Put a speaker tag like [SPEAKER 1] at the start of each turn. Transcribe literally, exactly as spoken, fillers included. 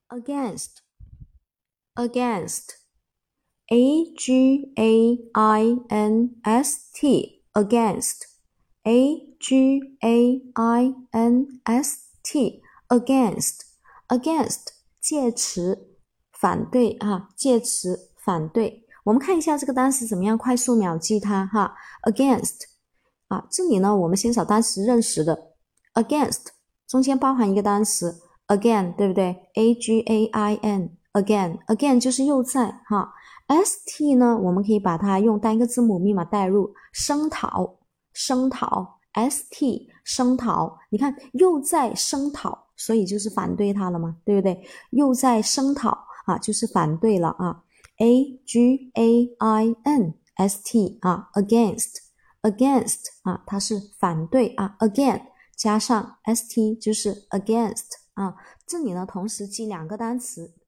[SPEAKER 1] against against A G A I N S T against A G A I N S T against against 介词反对啊，介词反对。我们看一下这个单词怎么样快速秒记它哈 against 啊，这里呢我们先找单词认识的 against 中间包含一个单词 again 对不对 A G A I N again again 就是又在哈 S T 呢我们可以把它用单一个字母密码代入声讨声讨 S T 声讨你看又在声讨所以就是反对它了嘛对不对又在声讨啊就是反对了啊 A G A I N S T 啊 against against 啊它是反对啊 again 加上 S T 就是 against 啊这里呢同时记两个单词